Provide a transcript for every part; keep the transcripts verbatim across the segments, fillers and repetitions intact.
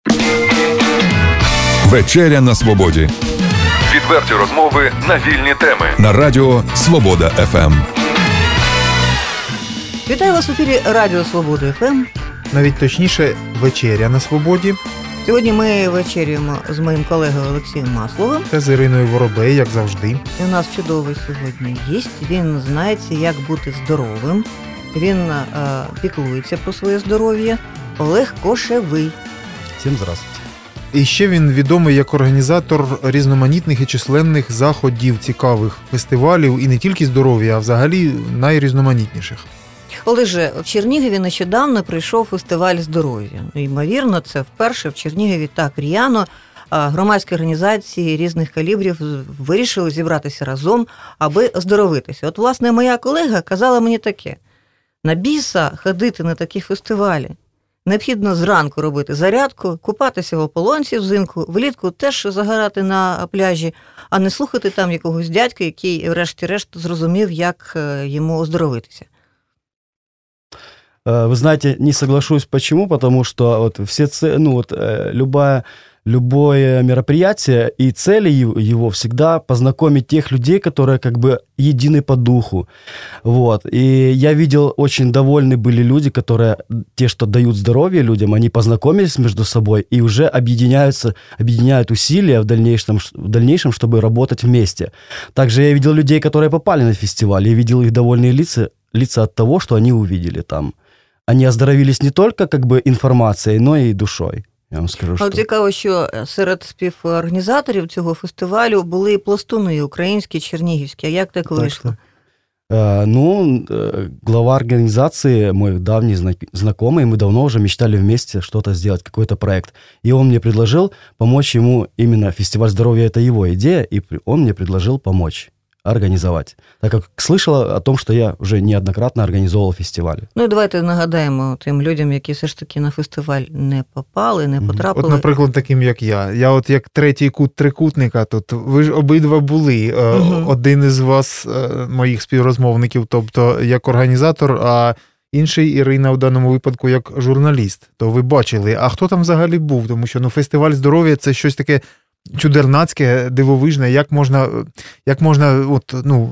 Вечеря на свободі. Відверті розмови на вільні теми. На радіо Свобода еф ем. Вітаю вас в ефірі Радіо Свобода еф ем. Навіть точніше, вечеря на свободі. Сьогодні ми вечерюємо з моїм колегою Олексієм Масловим. Та з Іриною Воробей, як завжди. І у нас чудовий сьогодні гість. Він знається, як бути здоровим. Він е, піклується про своє здоров'я. Олег Кошевий. Всім здравствуйте. І ще він відомий як організатор різноманітних і численних заходів, цікавих фестивалів, і не тільки здоров'я, а взагалі найрізноманітніших. Олеже, в Чернігові нещодавно прийшов фестиваль здоров'я. Ймовірно, це вперше в Чернігові так р'яно громадські організації різних калібрів вирішили зібратися разом, аби оздоровитися. От, власне, моя колега казала мені таке: на біса ходити на такі фестивалі. Необхідно зранку робити зарядку, купатися в ополонці взимку, влітку теж загорати на пляжі, а не слухати там якогось дядька, який врешті-решт зрозумів, як йому оздоровитися. Вы знаете, не соглашусь. Почему? Потому что вот все, ну вот любая, любое мероприятие и цели его всегда познакомить тех людей, которые как бы едины по духу. Вот. И я видел, очень довольны были люди, которые, те, что дают здоровье людям, они познакомились между собой и уже объединяются, объединяют усилия в дальнейшем, в дальнейшем, чтобы работать вместе. Также я видел людей, которые попали на фестиваль, и видел их довольные лица, лица от того, что они увидели там. Они оздоровились не только как бы інформацією, но і душою. Я вам скажу, що... Цікаво, що серед співорганізаторів цього фестивалю були і пластуни українські, чернігівські. А як так вийшло? Так, ну, глава организации, мой давний знакомый, мы давно уже мечтали вместе что-то сделать, какой-то проект. И он мне предложил помочь ему, именно фестиваль здоровья – это его идея, и он мне предложил помочь організувати, так як слышала о том, що я вже неоднократно організовував фестивалі. Ну і давайте нагадаємо тим людям, які все ж таки на фестиваль не попали, не потрапили. От, наприклад, таким, як я. Я от як третій кут трикутника тут. Ви ж обидва були. Угу. Один із вас, моїх співрозмовників, тобто як організатор, а інший, Ірина, в даному випадку, як журналіст. То ви бачили. А хто там взагалі був? Тому що ну, фестиваль здоров'я – це щось таке чудернацьке, дивовижне, як можна, як можна, от, ну,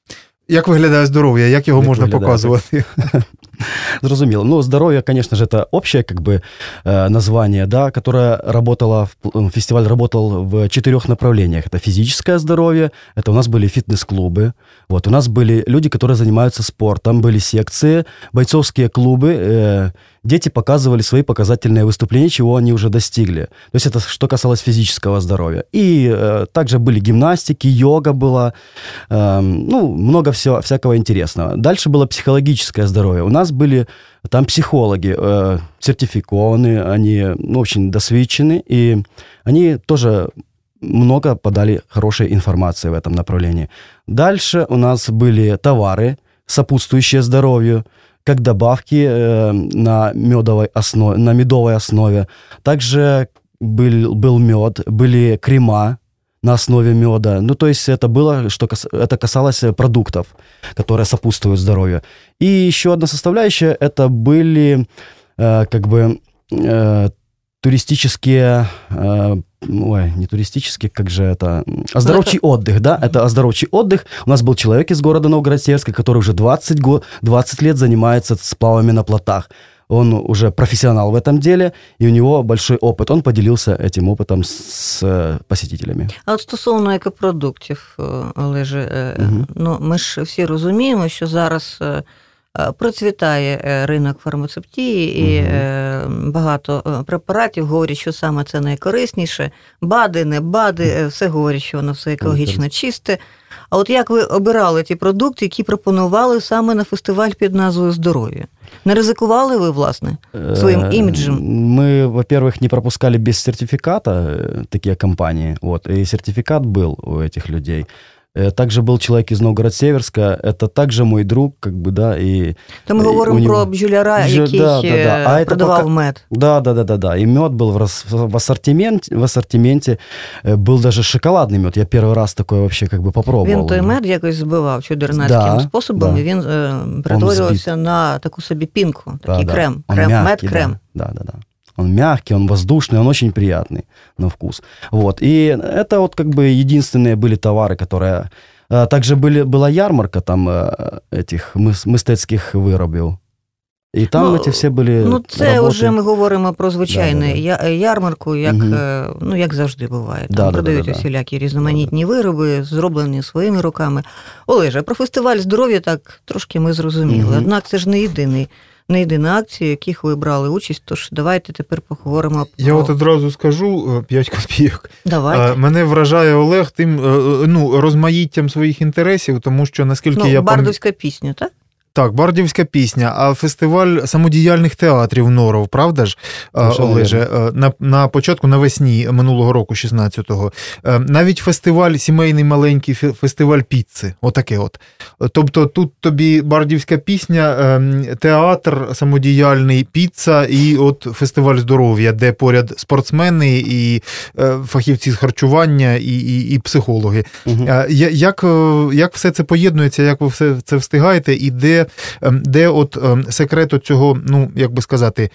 як виглядає здоров'я, як його як можна виглядає, показувати? Зрозуміло. Ну, здоровье, конечно же, это общее, как бы, название, да, которое работало, фестиваль работал в четырех направлениях. Это физическое здоровье, это у нас были фитнес-клубы, вот, у нас были люди, которые занимаются спортом, были секции, бойцовские клубы, дети показывали свои показательные выступления, чего они уже достигли. То есть это что касалось физического здоровья. И э, также были гимнастики, йога была, э, ну, много всего, всякого интересного. Дальше было психологическое здоровье. У нас были там психологи, э, сертификованные, они ну, очень досвидчены, и они тоже много подали хорошей информации в этом направлении. Дальше у нас были товары, сопутствующие здоровью, как добавки э, на медовой основе, на медовой основе. Также был, был мед, были крема на основе меда. Ну, то есть это было, что кас, это касалось продуктов, которые сопутствуют здоровью. И еще одна составляющая, это были э, как бы э, туристические... Э, Ой, не туристический, как же это... Оздоровчий это... отдых, да? Это оздоровчий отдых. У нас был человек из города Новгород-Северска, который уже двадцать, го... двадцать лет занимается сплавами на плотах. Он уже профессионал в этом деле, и у него большой опыт. Он поделился этим опытом с посетителями. А от стосовно екопродуктів, Олеже, угу. ну, ми ж всі розуміємо, що зараз... процвітає ринок фармацевтії і угу. багато препаратів говорять, що саме це найкорисніше. БАДи, не БАДи, все говорять, що воно все екологічно чисте. А от як ви обирали ті продукти, які пропонували саме на фестиваль під назвою «Здоров'я»? Не ризикували ви, власне, своїм іміджем? Мы, во-первых, не пропускали без сертификата такие компании. Вот, и сертификат был у этих людей. Также был человек из Новгород-Северска, это также мой друг, как бы, да, и... То ми говоримо него... про бджоляра, Бджо... який да, да, да. А продавав пока... мед. Да, да, да, да, да, и мед был в, рас... в, ассортименте, в ассортименте, был даже шоколадный мед, я первый раз такой вообще как бы попробовал. Він той мед якось збивав чудернацьким да, способом, да. І він е, перетворювався на таку собі пінку, такий да, крем, да. крем мед-крем. Да, да, да. Он мягкий, он воздушный, он очень приятный на вкус. Вот. И это вот как бы единственные были товары, которые... Также были, была ярмарка там этих мистецьких виробів. І там ну, ці всі були Ну, це роботи. вже ми говоримо про звичайну да, да, да. ярмарку, як, угу. ну, як завжди буває. Там да, продають да, да, усілякі різноманітні да, вироби, зроблені своїми руками. Олеже, про фестиваль здоров'я так трошки ми зрозуміли. Угу. Однак це ж не єдиний. Не єдина акція, в яких ви брали участь, тож давайте тепер поговоримо про... Я от одразу скажу п'ять копійок. Давайте. Мене вражає Олег тим, ну, розмаїттям своїх інтересів, тому що, наскільки ну, я... Бардівська пісня, так? Так, Бардівська пісня, а фестиваль самодіяльних театрів Норов, правда ж, Дуже Олеже, на, на початку, навесні минулого року, шістнадцятого. Навіть фестиваль, сімейний маленький фестиваль піци, отаке от. Тобто тут тобі Бардівська пісня, театр самодіяльний, піца і от фестиваль здоров'я, де поряд спортсмени і фахівці з харчування і, і, і психологи. Угу. Як, як все це поєднується, як ви все це встигаєте і де де от секрет цього, ну, як би сказати,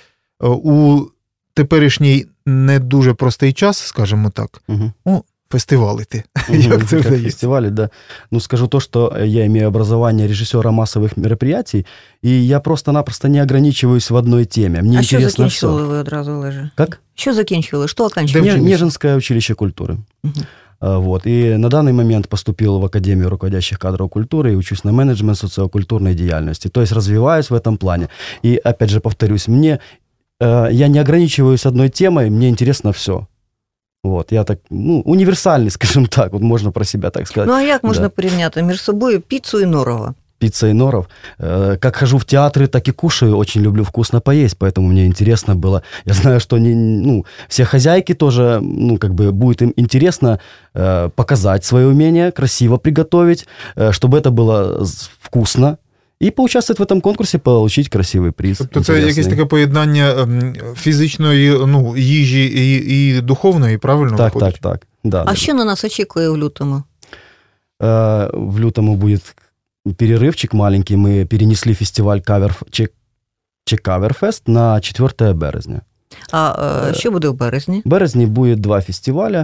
у теперішній не дуже простий час, скажімо так, угу. ну, фестивалити. Угу, як це вдається? Фестивали, да. Ну, скажу то, что я имею образование режиссера массовых мероприятий, и я просто-напросто не ограничиваюсь в одной теме. Мне а интересно все. Що закінчували ви одразу, Олеже? Как? Що закінчували? Що оканчивали? Нежинское училище культуры. Угу. Вот. И на данный момент поступил в Академию руководящих кадров культуры и учусь на менеджмент социокультурной деятельности. То есть развиваюсь в этом плане. И опять же повторюсь, мне, э, я не ограничиваюсь одной темой, мне интересно все. Вот. Я так, ну, универсальный, скажем так, вот можно про себя так сказать. Ну а як можна да. порівняти між собою піцу і Норова? Пицца и Норов. Как хожу в театры, так и кушаю. Очень люблю вкусно поесть, поэтому мне интересно было. Я знаю, что не, ну, все хозяйки тоже, ну, как бы будет им интересно э, показать свое умение, красиво приготовить, э, чтобы это было вкусно. І поучаствувати в цьому конкурсі, отримати красивий приз. Тобто це якесь таке поєднання фізичної, ну, їжі і, і духовної, правильно? Так, виходить? так, так. Да, а да. що на нас очікує в лютому? Э, в лютому буде перерывчик маленький. Мы перенесли фестиваль Кавер, Чек, Чекаверфест на четвертое березня. А э, що буде в березні? В березні буде два фестиваля.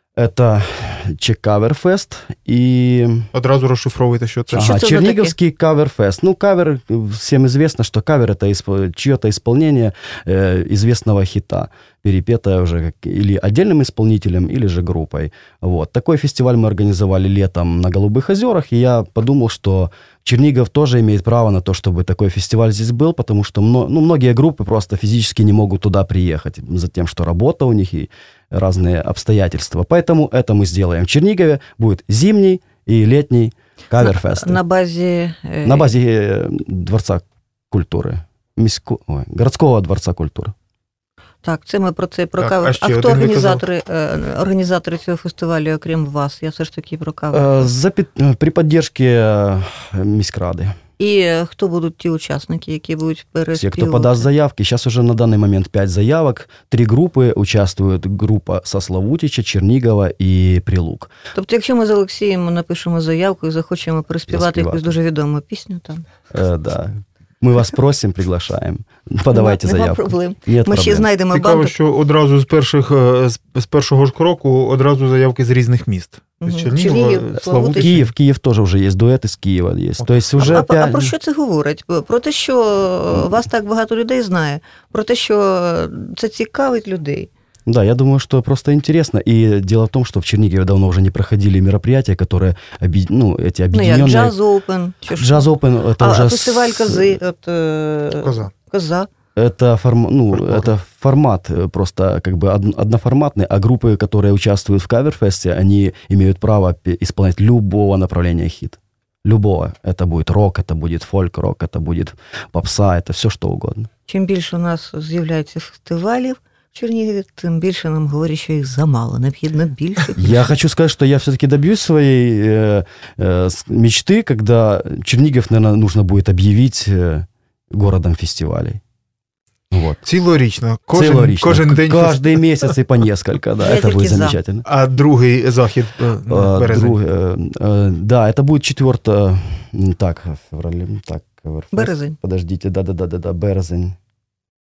Это Чекаверфест и... Одразу розшифровуйте, що це. Ага, що це Черниговский Каверфест. Ну, кавер, всем известно, что кавер — это исп... чье-то исполнение э, известного хита, перепетое уже как... или отдельным исполнителем, или же группой. Вот. Такой фестиваль мы организовали летом на Голубых озерах, и я подумал, что Чернигов тоже имеет право на то, чтобы такой фестиваль здесь был, потому что ну, многие группы просто физически не могут туда приехать, за тем, что работа у них и разные обстоятельства. Поэтому это мы сделаем. В Чернигове будет зимний и летний каверфест. На, на базе... Э... На базе Дворца культуры. Місько... Ой, городского Дворца культуры. Так, це ми про це, про так, кавер. А, а хто організатори, організатори цього фестивалю, окрім вас? Я все ж таки про кавер. За, при підтримці міськради. І хто будуть ті учасники, які будуть переспівувати? Все, кто подаст заявки. Сейчас уже на данный момент пять заявок. Три группы участвуют. Группа со Славутича, Чернігова і Прилук. Тобто, якщо ми з Олексієм напишемо заявку і захочемо переспівати якусь дуже відому пісню там? Е, да. Ми вас просимо, приглашаємо. Подавайте Нема, заявку. Нема проблем. Нет Ми проблем. ще знайдемо Цікаво, банду. що одразу з перших з першого ж кроку одразу заявки з різних міст. Угу. З Чернігова, Чернігів, Славутич. Київ, Київ теж вже є, дует із Києва є. Тобто вже а, п'ять... а про що це говорить? Про те, що вас так багато людей знає? Про те, що це цікавить людей? Да, я думаю, что просто интересно. И дело в том, что в Чернигове давно уже не проходили мероприятия, которые, ну, эти объединенные... Ну, як Jazz Open. Jazz Open, это а, уже... А фестиваль Кози? От, э... Коза. Коза. Это, форм... ну, это формат просто как бы одноформатный, а группы, которые участвуют в каверфесте, они имеют право исполнять любого направления хит. Любого. Это будет рок, это будет фольк-рок, это будет попса, это все что угодно. Чим більше у нас з'являється фестивалів в Чернігові, тем больше нам говорят, что их замало, необходимо больше. Я хочу сказать, что я все-таки добьюсь своей э, э, мечты, когда Чернигов, наверное, нужно будет объявить э, городом фестивалей. Вот. Цілорічно. Кожен, Цілорічно. кожен день. Каждый месяц и по несколько, да, это будет замечательно. А другий захід а, березень? Друг, э, э, да, это будет четвертое, так, феврале, так, березень. Подождите, да-да-да, березень.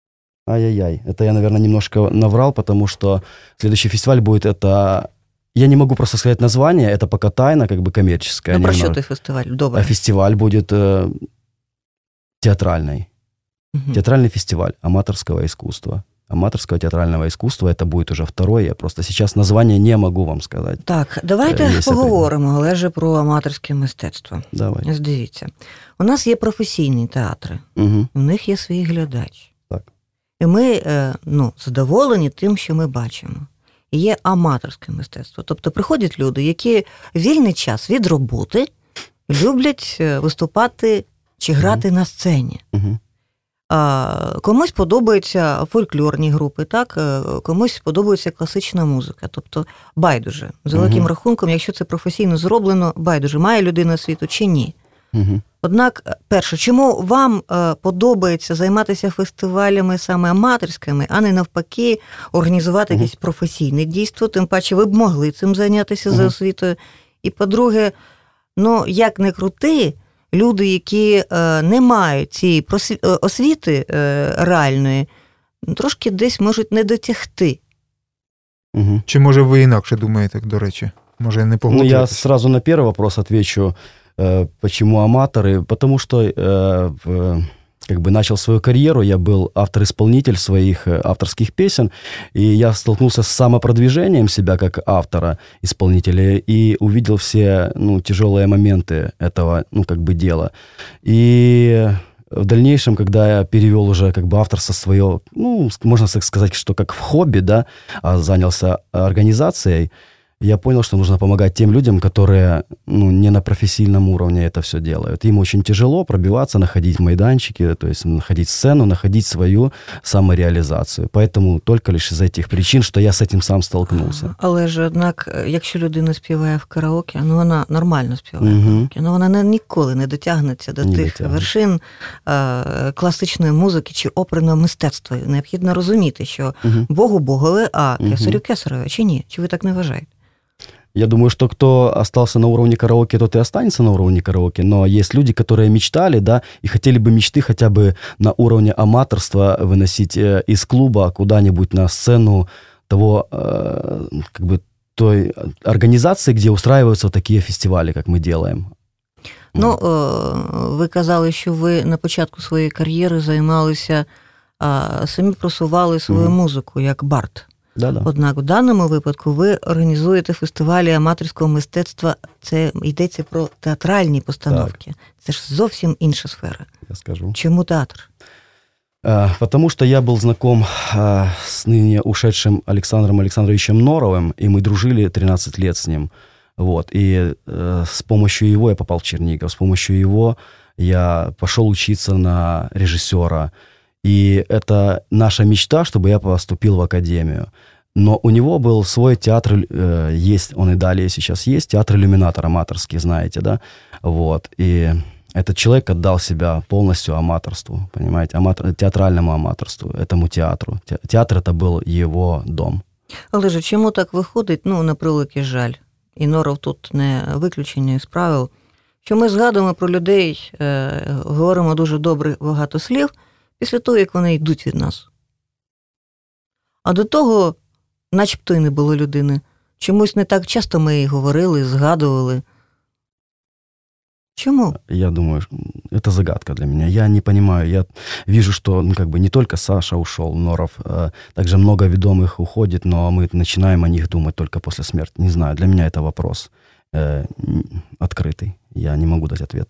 Ай-яй-яй. Это я, наверное, немножко наврал, потому что следующий фестиваль будет это... Я не могу просто сказать название, это пока тайна, как бы коммерческая. Ну, про що немного. той фестиваль? Добре. А фестиваль будет э, театральный. Мгм. Театральный фестиваль аматорского искусства. Аматорского театрального искусства. Это будет уже второй. Я просто сейчас название не могу вам сказать. Так, давайте Є поговоримо, але ж про аматорське мистецтво. Давай. Ось дивіться, у нас є професійні театри, Угу. у них є свій глядач. Так. І ми е, ну, задоволені тим, що ми бачимо. І є аматорське мистецтво. Тобто приходять люди, які вільний час від роботи люблять е, виступати чи грати на сцені. Угу. А, комусь подобаються фольклорні групи, так? Е, комусь подобається класична музика. Тобто байдуже. За великим Мгм. рахунком, якщо це професійно зроблено, байдуже, має людина освіту чи ні. Угу. Однак, перше, чому вам е, подобається займатися фестивалями саме аматорськими, а не навпаки організувати Мгм. якесь професійне дійство, тим паче ви б могли цим зайнятися за Мгм. освітою. І по-друге, ну, як не крути, люди, які е, не мають цієї просві- е, освіти е, реальної, трошки десь можуть не дотягти. Угу. Чи може ви інакше думаєте, до речі? Може, не Ну, я погоджуєтесь? сразу на первый вопрос отвечу, э, почему аматоры. Потому что э, в- как бы начал свою карьеру, я был автор-исполнитель своих э, авторских песен, и я столкнулся с самопродвижением себя как автора-исполнителя и увидел все, ну, тяжелые моменты этого, ну, как бы дела. И в дальнейшем, когда я перевел уже как бы авторство свое, ну, можно так сказать, что как в хобби, да, а занялся организацией, я понял, что нужно помогать тем людям, которые, ну, не на профессиональном уровне это все делают. Им очень тяжело пробиваться, находить майданчики, то есть находить сцену, находить свою самореализацию. Поэтому только лишь из этих причин, что я с этим сам столкнулся. Але ж, однак, якщо людина співає в караоке, ну вона нормально співає в Мгм. караоке, ну вона не, ніколи не дотягнеться до Не тих дотягне. вершин е, класичної музики чи оперного мистецтва. Необхідно розуміти, що Мгм. Богу Богове, а Мгм. кесарю кесареве, чи ні? Чи ви так не вважаєте? Я думаю, что кто остался на уровне караоке, тот и останется на уровне караоке. Но есть люди, которые мечтали, да, и хотели бы мечты хотя бы на уровне аматорства выносить э, из клуба куда-нибудь на сцену того, э, как бы, той организации, где устраиваются такие фестивали, как мы делаем. Ну, е, ви казали, що ви на початку своєї кар'єри займалися, а, самі просували свою Мгм. музику як бард. Да-да. Однак в даному випадку ви організуєте фестивалі аматорського мистецтва. Це йдеться про театральні постановки. Це ж зовсім інша сфера. Я скажу. Чому театр? А, Потому что я был знаком а, с ныне ушедшим Александром Александровичем Норовым, и мы дружили тринадцать лет с ним. Вот. И э, с помощью его я попал в Чернигов, с помощью его я пошел учиться на режиссера. И это наша мечта, чтобы я поступил в академию. Но у него был свой театр, э, есть, он и далее сейчас есть, театр «Иллюминатор» аматорский, знаете, да? Вот. И этот человек отдал себя полностью аматорству, понимаете, аматор, театральному аматорству, этому театру. Те- Театр – это был его дом. Але ж чому так виходить? Ну, на превеликий жаль. І Норов тут не виключення із правил. Що ми згадуємо про людей, е, говоримо дуже добре багато слів, після того, як вони йдуть від нас. А до того, начебто й не було людини. Чомусь не так часто ми її говорили, згадували. Чому? Я думаю, это загадка для меня. Я не понимаю. Я вижу, что, ну, как бы не только Саша ушел, Норов, э, также много ведомых уходит, но мы начинаем о них думать только после смерти. Не знаю, для меня это вопрос э, открытый. Я не могу дать ответ.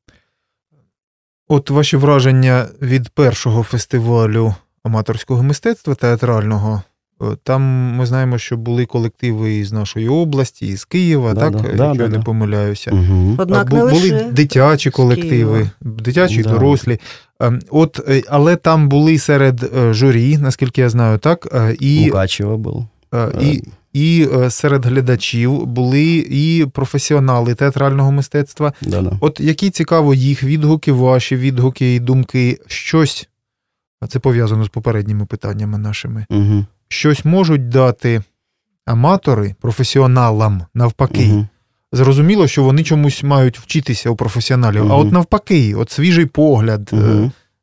От ваші враження від першого фестивалю аматорського мистецтва театрального. Е, Там ми знаємо, що були колективи із нашої області, із Києва, Да, так, да, якщо да, я да, не да. помиляюся. Мгм. Однак Бу- не були лише дитячі з колективи, Києва. дитячі, Да. дорослі. Ем, От, е, але там були серед е, журі, наскільки я знаю, так, е, і, Мукачева был. е, і, і е, серед глядачів були і професіонали театрального мистецтва. Да-да. От які цікаво їх відгуки, ваші відгуки і думки, щось, а це пов'язано з попередніми питаннями нашими, Мгм. щось можуть дати аматори професіоналам навпаки. Мгм. Зрозуміло, що вони чомусь мають вчитися у професіоналів, а Мгм. от навпаки, от свіжий погляд, е, Мгм.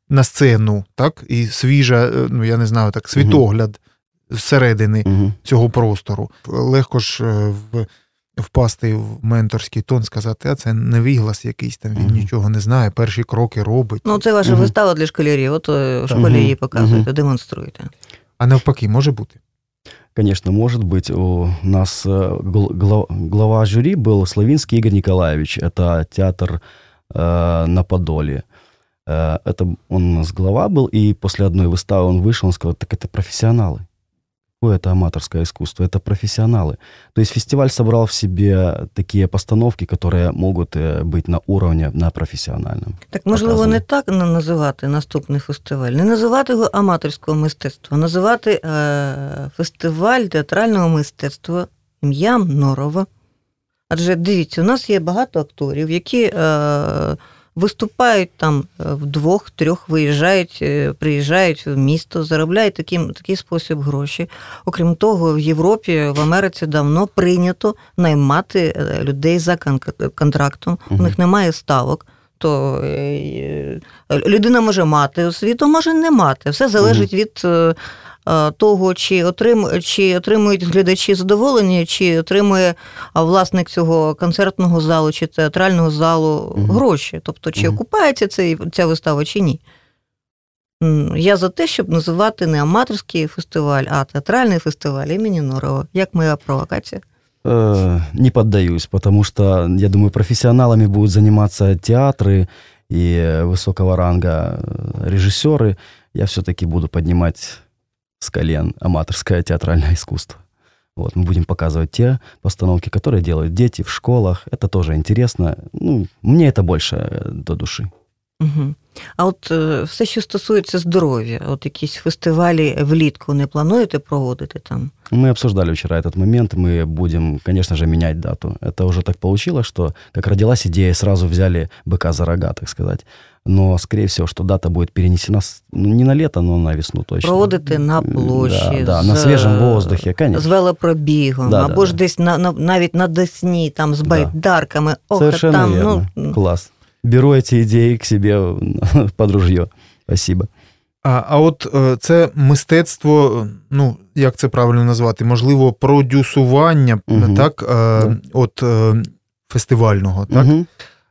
на сцену, так, і свіжа, ну я не знаю, так, світогляд зсередини Мгм. цього простору. Легко ж е, в, впасти в менторський тон, сказати, а це невіглас якийсь там, він Мгм. нічого не знає, перші кроки робить. Ну, це ваша Мгм. вистава для школярів. От е, в Так. школі Мгм. її показуєте, Мгм. демонструєте. А навпаки, може бути? Конечно, может быть. У нас э, гл- глав- глава жюри был Славинский Игорь Николаевич. Это театр э, на Подоле. Э, это он у нас глава был, и после одной выставы он вышел, он сказал, так это профессионалы. Какое это аматорское искусство? Это профессионалы. То есть фестиваль собрал в себе такие постановки, которые могут э, быть на уровне, на профессиональном. Так, можливо, показано. не так на- називати наступний фестиваль, не називати його аматорського мистецтва, називати е, фестиваль театрального мистецтва ім'ям Норова. Адже, дивіться, у нас є багато акторів, які е, виступають там е, вдвох-трьох, виїжджають, е, приїжджають в місто, заробляють таким, такий спосіб гроші. Окрім того, в Європі, в Америці давно прийнято наймати е, людей за кон- контрактом, у Мгм. них немає ставок. То е, людина може мати освіту, може не мати. Все залежить від е, е, того, чи, отрим, чи отримують глядачі задоволення, чи отримує а, власник цього концертного залу чи театрального залу Мгм. гроші. Тобто, чи Мгм. окупається цей, ця вистава, чи ні. М, Я за те, щоб називати не аматорський фестиваль, а театральний фестиваль імені Норова. Як моя провокація? Э, Не поддаюсь, потому что, я думаю, профессионалами будут заниматься театры и высокого ранга э, режиссеры. Я все-таки буду поднимать с колен аматорское театральное искусство. Вот, мы будем показывать те постановки, которые делают дети в школах. Это тоже интересно. Ну, мне это больше э, до души. Угу. А от е, все, що стосується здоров'я, от якісь фестивалі влітку не плануєте проводити там? Мы обсуждали вчера этот момент. Мы будем, конечно же, менять дату. Это уже так получилось, что как родилась идея, сразу взяли быка за рога, так сказать. Но, скорее всего, что дата будет перенесена с- ну, не на лето, но на весну точно. Проводити на площі, Да, да, з, на свежем воздухе, конечно. з велопробігом, Да, або да, ж да. десь на, на, навіть на Десні, там з Да. байдарками. Ох, Совершенно там, верно. ну, Класс. Беру эти идеи к себе под ружье. Спасибо. А, а от е, це мистецтво, ну, як це правильно назвати, можливо, продюсування, Мгм. так, е, Да. от е, фестивального, так? Мгм.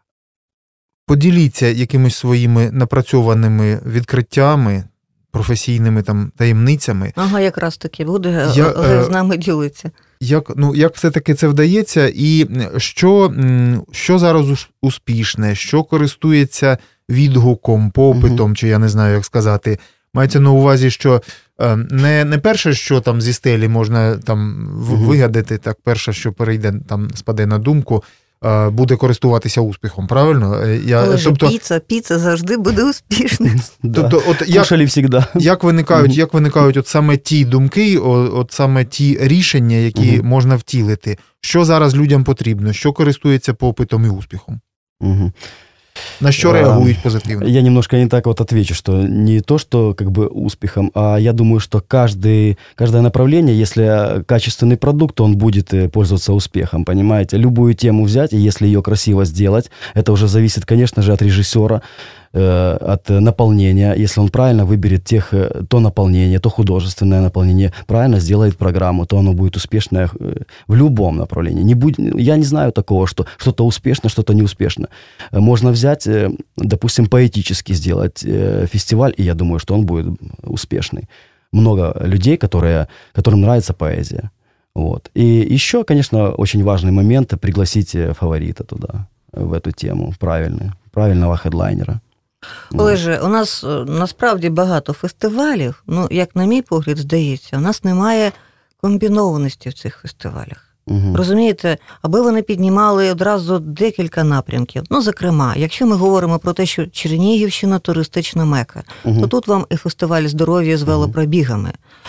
Поділіться якимись своїми напрацьованими відкриттями, професійними там таємницями. ага, якраз таки буде Я, е, е, з нами ділитися. Як, ну, як все-таки це вдається, і що, м, що зараз ус- успішне, що користується відгуком, попитом, чи я не знаю, як сказати. Мається на увазі, що е, не, не перше, що там зі стелі можна там в- Мгм. вигадати, так перше, що перейде, там спаде на думку, е, буде користуватися успіхом, правильно? Е, Я, Але ж тобто, піца, піца завжди буде успішною. Да. тобто, от як, Кушали всегда. як виникають, Мгм. як виникають от саме ті думки, о- от саме ті рішення, які Мгм. можна втілити? Що зараз людям потрібно? Що користується попитом і успіхом? Мгм. На що А, реагують позитивно? Я немножко не так вот отвечу, что не то, что как бы успехом, а я думаю, что каждый, каждое направление, если качественный продукт, то он будет э, пользоваться успехом, понимаете? Любую тему взять, и если ее красиво сделать, это уже зависит, конечно же, от режиссера, э, от наполнения. Если он правильно выберет тех, э, то наполнение, то художественное наполнение, правильно сделает программу, то оно будет успешное э, в любом направлении. Не будь, я не знаю такого, что что-то успешно, что-то неуспешно. Э, Можно взять, э, допустим, поэтически сделать э, фестиваль, и я думаю, что он будет успешный. Много людей, которые, которым нравится поэзия. Вот. И еще, конечно, очень важный момент – пригласить э, фаворита туда, в эту тему, правильный, правильного хедлайнера. Олеже, у нас е, насправді багато фестивалів, ну, як на мій погляд, здається, у нас немає комбінованості в цих фестивалях. Мгм. Розумієте, аби вони піднімали одразу декілька напрямків. Ну, зокрема, якщо ми говоримо про те, що Чернігівщина – туристична мека, Мгм. то тут вам і фестиваль здоров'я з велопробігами.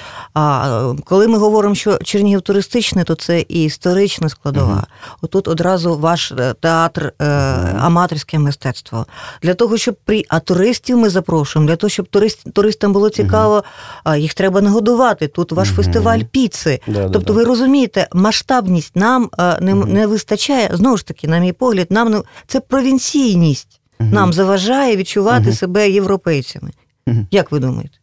А е, коли ми говоримо, що Чернігів туристичний, то це і історична складова. Мгм. Отут одразу ваш е, театр, е, аматорське мистецтво. Для того, щоб при... А туристів ми запрошуємо, для того, щоб турист... туристам було цікаво, а їх треба нагодувати. Тут ваш Мгм. фестиваль піци. Да, да, Тобто да. ви розумієте, масштабність нам е, не, Мгм. не вистачає. Знову ж таки, на мій погляд, нам не... це провінційність. Мгм. Нам заважає відчувати Мгм. себе європейцями. Як ви думаєте?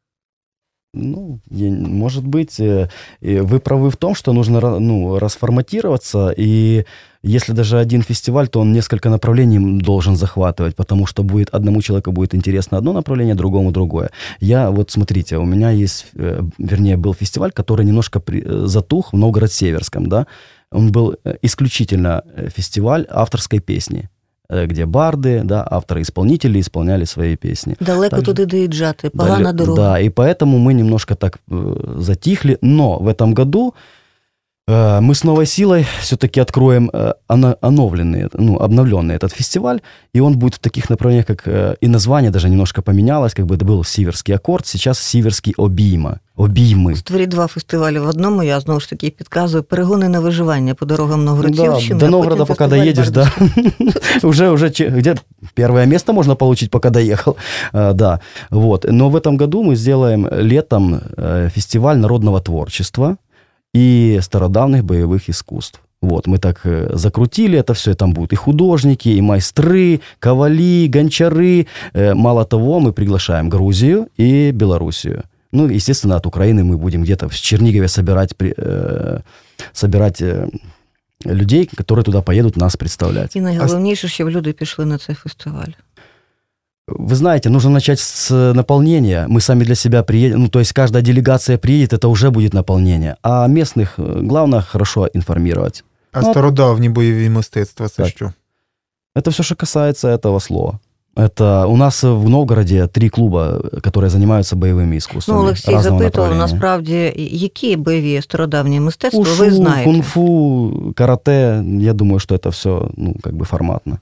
Ну, может быть, вы правы в том, что нужно, ну, расформатироваться, и если даже один фестиваль, то он несколько направлений должен захватывать, потому что будет одному человеку будет интересно одно направление, другому другое. Я, вот смотрите, у меня есть, вернее, был фестиваль, который немножко при, затух в Новгород-Северском, да, он был исключительно фестиваль авторской песни, где барды, да, авторы-исполнители исполняли свои песни. Далеко Также, туди доїжджати, погана дорога. Да, и поэтому мы немножко так э, затихли, но в этом году э, мы с новой силой все-таки откроем э, оновленный, ну, обновленный этот фестиваль, и он будет в таких направлениях, как э, и название даже немножко поменялось, как бы это был Сіверський акорд, сейчас Сіверський обійма. Обійми. Створіть два фестивалі в одному, я знову ж таки підказую, перегони на виживання по дорогам Новгород-Сіверщини. Да, до Новгорода пока доедешь, да. Уже, уже, где первое место можно получить, пока доехал. Да, вот. Но в этом году мы сделаем летом фестиваль народного творчества и стародавних боевых искусств. Вот, мы так закрутили это все, там будут и художники, и майстры, ковали, гончары. Мало того, мы приглашаем Грузию и Белоруссию. Ну, естественно, от Украины мы будем где-то в Чернигове собирать, э, собирать э, людей, которые туда поедут нас представлять. І найголовніше, щоб люди пішли на цей фестиваль. Вы знаете, нужно начать с наполнения. Мы сами для себя приедем, ну, то есть каждая делегация приедет, это уже будет наполнение. А местных, главное, хорошо информировать. А ну, стародавні бойові мистецтва, це так. що? Это все, что касается этого слова. Это у нас в Новгороде три клуба, которые занимаются боевыми искусствами. Ну, Олексій запитував, насправді, які бойові стародавні мистецтва Ушу, ви знаєте? кунг-фу, карате, я думаю, что это все, ну, как бы форматно.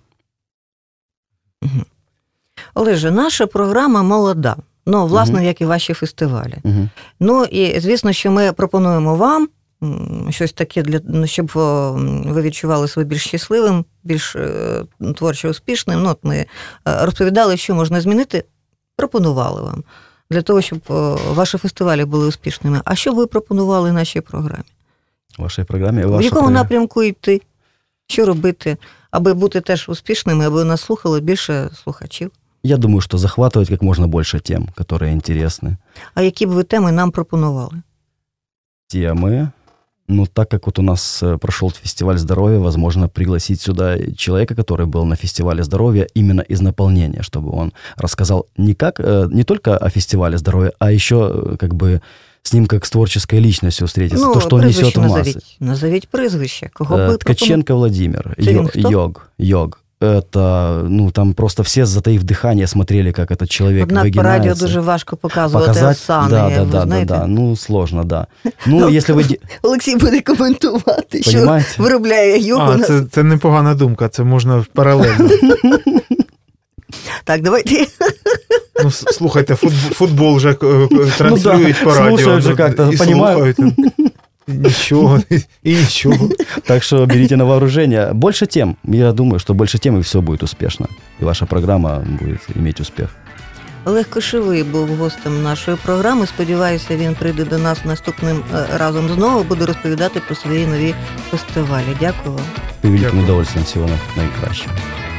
Угу. Олеже, наша програма молода, ну, власне, угу. як і ваші фестивалі. Угу. Ну, і, звісно, що ми пропонуємо вам щось таке, для, щоб ви відчували себе більш щасливим, більш творчо успішним. Ну, от ми розповідали, що можна змінити, пропонували вам, для того, щоб ваші фестивалі були успішними. А що ви пропонували нашій програмі? Вашій програмі? В якому програм... напрямку йти? Що робити, аби бути теж успішними, аби нас слухало більше слухачів? Я думаю, что захватывать как можно больше тем, которые интересны. А які б ви теми нам пропонували? Темы? Ну, так как вот у нас прошел фестиваль здоровья, возможно, пригласить сюда человека, который был на фестивале здоровья именно из наполнения, чтобы он рассказал не, как, не только о фестивале здоровья, а еще как бы с ним как с творческой личностью встретиться, ну, то, что он несет в массы. Назовіть, назовіть прізвище. Кого би Ткаченко Владимир, йог, йог. Это, ну, там просто все, затаив дыхание, смотрели, как этот человек Однак выгинается. по радіо дуже важко показувати Показать, осани, да, да, ви да, знаєте? да, да, ну, сложно, да. Ну, якщо ви... Олексій буде коментувати, Понимаете? що виробляє йогу. А, це, це непогана думка, це можна паралельно. Так, давайте. Ну, слухайте, футбол, футбол вже транслюють ну, да, по радіо. Слушают же как-то, і понимают. Слухають. Ничего, и ничего. Так что берите на вооружение. Больше тем. Я думаю, что больше тем, и все будет успешно. И ваша программа будет иметь успех. Олег Кошовий був гостем нашої програми. Сподіваюся, він прийде до нас наступним разом знову, буде розповідати про свої нові фестивалі. Дякую вам. І великим удовольствием. Всього найкращого.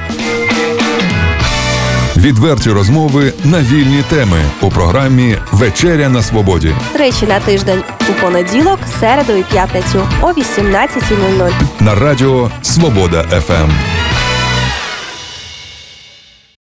Відверті розмови на вільні теми у програмі «Вечеря на свободі». Тричі на тиждень у понеділок, середу і п'ятницю о вісімнадцятій нуль нуль. На радіо «Свобода еф ем».